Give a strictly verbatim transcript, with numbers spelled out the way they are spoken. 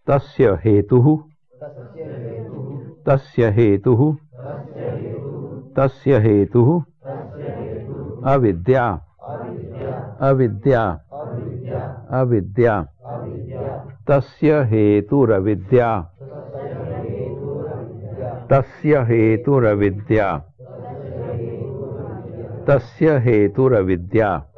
तस्य हेतुः तस्य हेतुः तस्य हेतुः अविद्या अविद्या अविद्या तस्य हेतुरविद्या तस्य हेतुरविद्या तस्य हेतुरविद्या